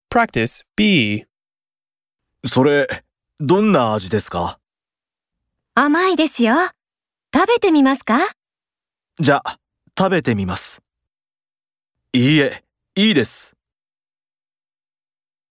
Practice B. それ、どんな味ですか？ 甘いですよ。食べてみますか？ じゃあ、食べてみます。いいえ、いいです。